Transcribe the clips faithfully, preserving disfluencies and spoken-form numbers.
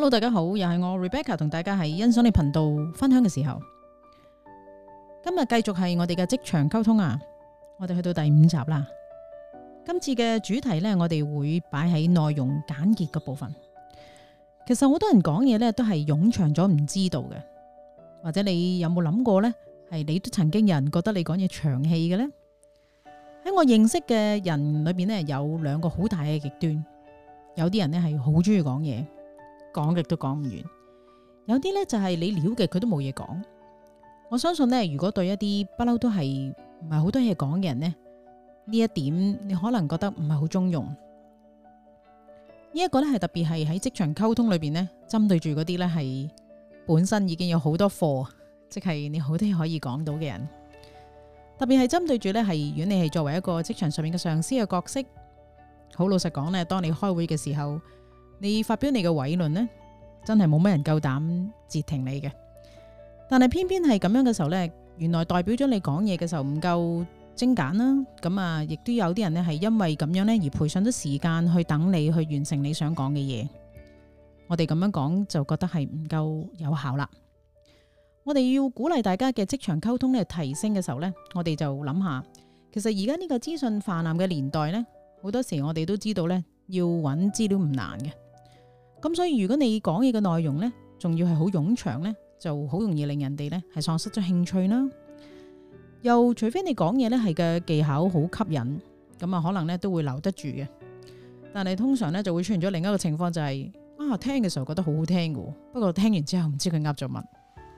Hello， 大家好，又係我 Rebecca 同大家喺欣賞你頻道分享嘅時候，今日繼續係我哋嘅職場溝通啊！我哋去到第五集啦。今次嘅主題呢，我哋會擺喺內容簡潔嘅部分。其實好多人講嘢呢，都係冗長咗唔知道嘅，或者你有冇諗過呢？係你都曾經有人覺得你講嘢長氣嘅呢？喺我認識嘅人裏邊呢，有兩個好大嘅極端。有啲人呢係好中意講嘢，講極都講唔完；有啲呢就係你了嘅佢都冇嘢講。我相信呢，如果對一啲不嬲都係唔係好多嘢講嘅人呢，呢一點你可能覺得唔係好中用。呢一個呢係特別係喺職場溝通裏邊呢，針對住嗰啲呢係本身已經有好多貨，即係你好多嘢可以講到嘅人。特別係針對住呢係，如果你係作為一個職場上面嘅上司嘅角色，好老實講呢，當你開會嘅時候，你發表你嘅偉論呢，真係冇乜人夠膽截停你嘅。但係偏偏係咁樣嘅時候呢，原來代表咗你講嘢嘅時候唔夠精簡啦。咁啊，亦都有啲人呢係因為咁樣呢而賠上咗時間去等你去完成你想講嘅嘢。我哋咁樣講就覺得係唔夠有效啦。我哋要鼓勵大家嘅職場溝通呢提升嘅時候呢，我哋就諗下，其實而家呢個資訊泛濫嘅年代呢，好多時我哋都知道呢，要揾資料唔難嘅。咁所以如果你講嘢嘅內容呢，仲要係好冗長呢，就好容易令人哋呢係喪失咗興趣啦。又除非你講嘢呢係嘅技巧好吸引，咁啊可能呢都會留得住嘅。但係通常呢就會出現咗另一個情況，就係啊聽嘅時候覺得好好聽嘅，不過聽完之後唔知佢噏咗乜。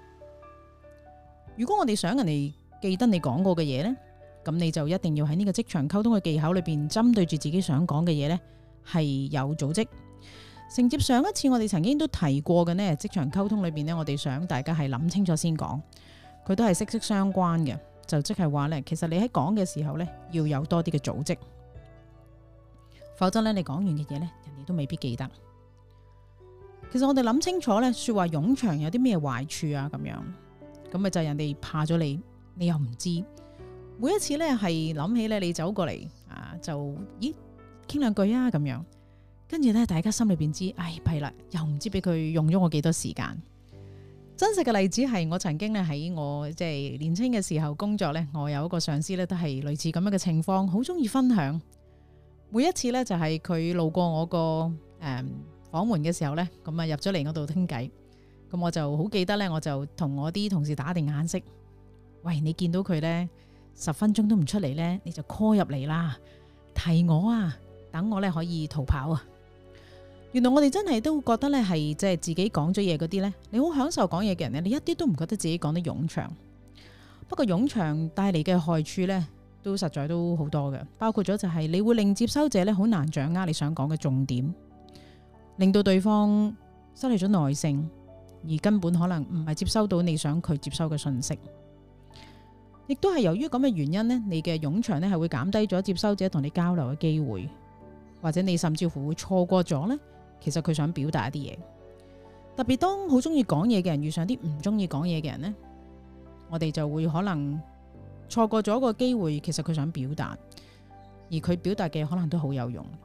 如果我哋想人哋記得你講過嘅嘢呢，咁你就一定要喺呢個職場溝通嘅技巧裏邊，針對住自己想講嘅嘢呢係有組織。承接上一次我哋曾經都提過嘅呢，職場溝通裏邊呢，我哋想大家係諗清楚先講，佢都係息息相關嘅。就即係話呢，其實你喺講嘅時候呢，要有多啲嘅組織，否則呢，你講完嘅嘢呢，人哋都未必記得。其實我哋諗清楚呢，說話冗長有啲咩壞處啊？咁樣咁咪就係人哋怕咗你，你又唔知。每一次呢，係諗起呢，你走過嚟啊，就咦傾兩句啊咁樣。跟住咧，大家心裏邊知，唉弊啦，又唔知俾佢用咗我幾多時間。真實嘅例子係我曾經咧喺我即係年輕嘅時候工作咧，我有一個上司咧都係類似咁樣嘅情況，好中意分享。每一次咧就係佢路過我個誒房門嘅時候咧，咁啊入咗嚟我度傾偈，咁我就好記得咧，我就同我啲同事打定眼色，喂，你見到佢咧十分鐘都唔出嚟咧，你就 call 入嚟啦，提我啊，等我咧可以逃跑啊！原來我哋真係都覺得咧係即係自己講咗嘢嗰啲咧，你好享受講嘢嘅人咧，你一啲都唔覺得自己講得冗長。不過冗長帶嚟嘅害處咧，都實在都好多嘅，包括咗就係你會令接收者咧好難掌握你想講嘅重點，令到對方失去咗耐性，而根本可能唔係接收到你想佢接收嘅信息。亦都係由於咁嘅原因呢，你嘅冗長咧係會減低咗接收者同你交流嘅機會，或者你甚至乎會錯過咗呢。其實佢想表達一啲嘢，特別當好中意講嘢嘅人遇上啲唔中意講嘢嘅人呢，我哋就會可能錯過咗個機會。其實佢想表達，而佢表達嘅可能都好有用。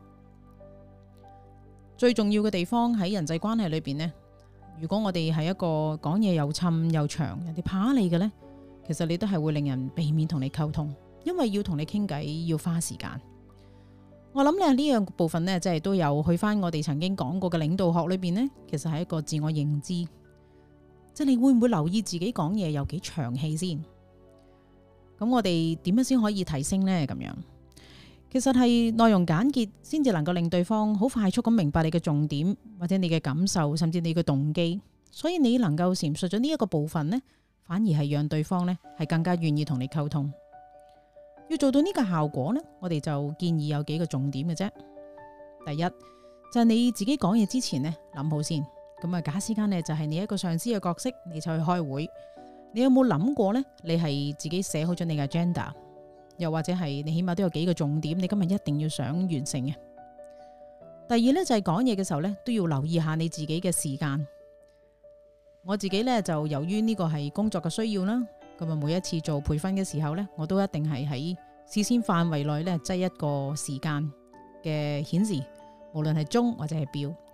最重要嘅地方喺人際關係裏邊呢，如果我哋係一個講嘢又侵又長，人哋怕你嘅呢，其實你都係會令人避免同你溝通，因為要同你傾偈要花時間。我諗咧呢樣部分呢，即係都有去翻我哋曾經講過嘅領導學裏邊呢，其實係一個自我認知，即係你會唔會留意自己講嘢有幾長氣先？咁我哋點樣先可以提升呢？咁樣其實係內容簡潔，先至能夠令對方好快速咁明白你嘅重點，或者你嘅感受，甚至你嘅動機。所以你能夠闡述咗呢一個部分呢，反而係讓對方呢係更加願意同你溝通。要做到呢個效果呢，我哋就建議有幾個重點嘅啫。第一就係你自己講嘢之前呢，諗好先。咁啊，假使間呢就係你一個上司嘅角色，你就去開會，你有冇諗過呢？你係自己寫好咗你嘅 agenda， 又或者係你起碼都有幾個重點，你今日一定要想完成嘅。第二呢，就係講嘢嘅時候呢，都要留意下你自己嘅時間。我自己呢，就由於呢個係工作嘅需要啦。咁啊，每一次做培訓嘅時候呢，我都一定係喺視線範圍內呢，擠一個時間嘅顯示，無論係鐘或者係錶。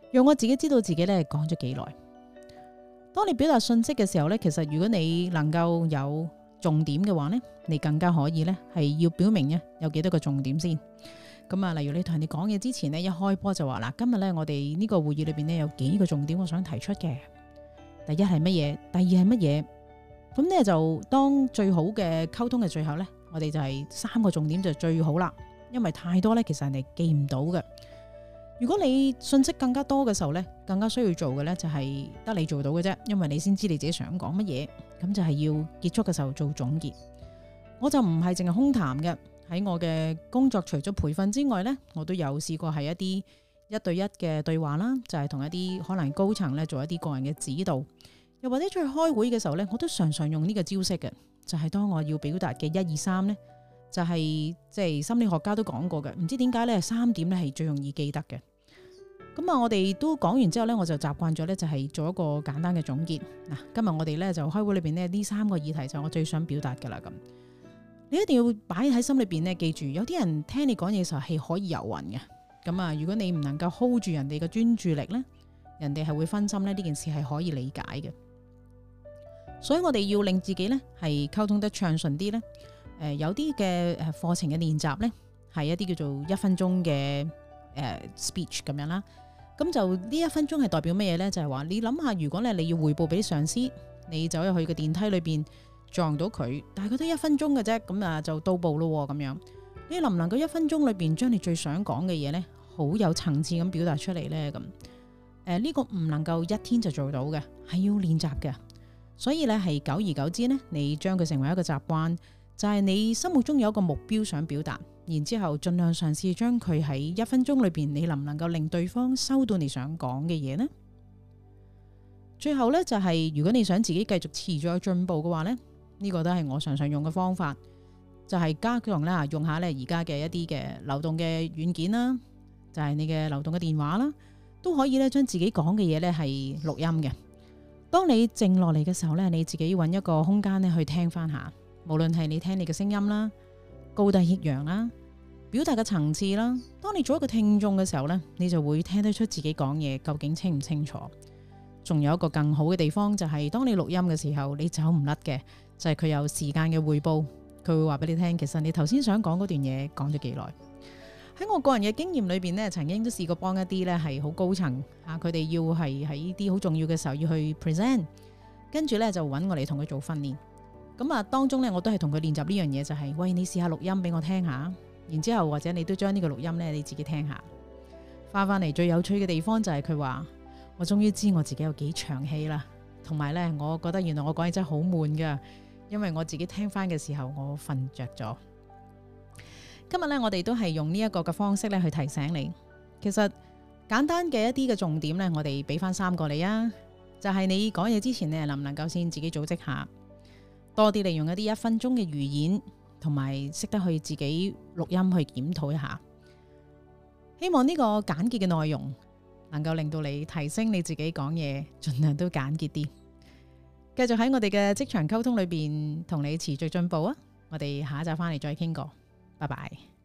讓我自己知道自己咧講咗幾耐。當你表達信息嘅時候咧，其實如果你能夠有重點嘅話咧，你更加可以咧係要表明咧有幾多個重點先。咁啊，例如你同人哋講嘢之前咧，一開波就話嗱，今日咧我哋呢個會議裏邊咧有幾個重點我想提出嘅。第一係乜嘢？第二係乜嘢？咁咧就當最好嘅溝通嘅最後咧，我哋就係三個重點就最好啦。因為太多咧，其實人哋記唔到嘅。如果你信息更加多嘅時候咧，更加需要做嘅咧就係得你做到嘅啫，因為你先知你自己想講乜嘢。咁就係要結束嘅時候做總結。我就唔係淨係空談嘅，喺我嘅工作除咗培訓之外咧，我都有試過係一啲一對一嘅對話啦，就係同一啲可能高層咧做一啲個人嘅指導，又或者出去開會嘅時候咧，我都常常用呢個招式嘅，就係當我要表達嘅一二三咧，就係即係心理學家都講過嘅，唔知點解咧三點咧係最容易記得嘅。咁啊，我哋都講完之後咧，我就習慣咗咧，就係做一個簡單嘅總結。嗱，今日我哋咧就開會裏邊呢，呢三個議題就我最想表達噶啦。咁你一定要擺喺心裏邊咧，記住有啲人聽你講嘢嘅時候係可以遊魂嘅。咁啊，如果你唔能夠 hold 住人哋嘅專注力咧，人哋係會分心咧。呢件事係可以理解嘅。所以我哋要令自己咧係溝通得暢順啲咧。誒、呃，有啲嘅誒課程嘅練習咧，係一啲叫做一分鐘嘅誒、呃、speech 咁樣啦。咁就呢一分鐘係代表乜嘢咧？就係話你諗下，如果咧你要匯報俾上司，你走入去個電梯裏邊撞到佢，但係佢都一分鐘嘅啫，咁啊就到步咯咁樣。你能唔能夠一分鐘裏邊將你最想講嘅嘢咧，好有層次咁表達出嚟咧？咁誒呢個唔能夠一天就做到嘅，係要練習嘅。所以咧係久而久之咧，你將佢成為一個習慣，就係你心目中有一個目標想表達。然之後盡量嘗試將佢喺一分鐘裏邊，你能唔能夠令對方收到你想講嘅嘢呢？最後咧就係、是、如果你想自己繼續持續有進步嘅話咧，呢、這個都係我常常用嘅方法，就係、是、加強啦，用下咧而家嘅一啲嘅流動嘅軟件啦，就係、是、你嘅流動嘅電話啦，都可以咧將自己講嘅嘢咧係錄音嘅。當你靜落嚟嘅時候咧，你自己揾一個空間咧去聽翻下，無論係你聽你嘅聲音啦，高低抑揚啦，表達嘅層次啦。當你做一個聽眾嘅時候呢，你就會聽得出自己講嘢究竟清唔清楚。仲有一個更好嘅地方就係、是，當你錄音嘅時候，你走唔甩嘅就係、是、佢有時間嘅匯報，佢會話俾你聽，其實你頭先想講嗰段嘢講咗幾耐。喺我個人嘅經驗裏邊呢，曾經都試過幫一啲呢係好高層啊，佢哋要係喺呢啲好重要嘅時候要去 present， 跟住呢就揾我嚟同佢做訓練。咁啊，當中呢，我都係同佢練習呢樣嘢，就係、是、喂，你試下錄音俾我聽下。然之後或者你都將呢個錄音咧你自己聽下，翻翻嚟最有趣嘅地方就係佢話我終於知我自己有幾長氣啦，同埋咧我覺得原來我講嘢真係好悶噶，因為我自己聽翻嘅時候我瞓着咗。今日咧我哋都係用呢一個嘅方式咧去提醒你，其實簡單嘅一啲嘅重點咧，我哋俾翻三個你啊，就係、是、你講嘢之前咧能唔能夠先自己組織下，多啲利用一啲一分鐘嘅語言。同埋識得去自己錄音去檢討一下，希望呢個簡潔嘅內容能夠令到你提升你自己講嘢，盡量都簡潔啲。繼續喺我哋嘅職場溝通裏邊同你持續進步啊！我哋下一集翻嚟再傾過，拜拜。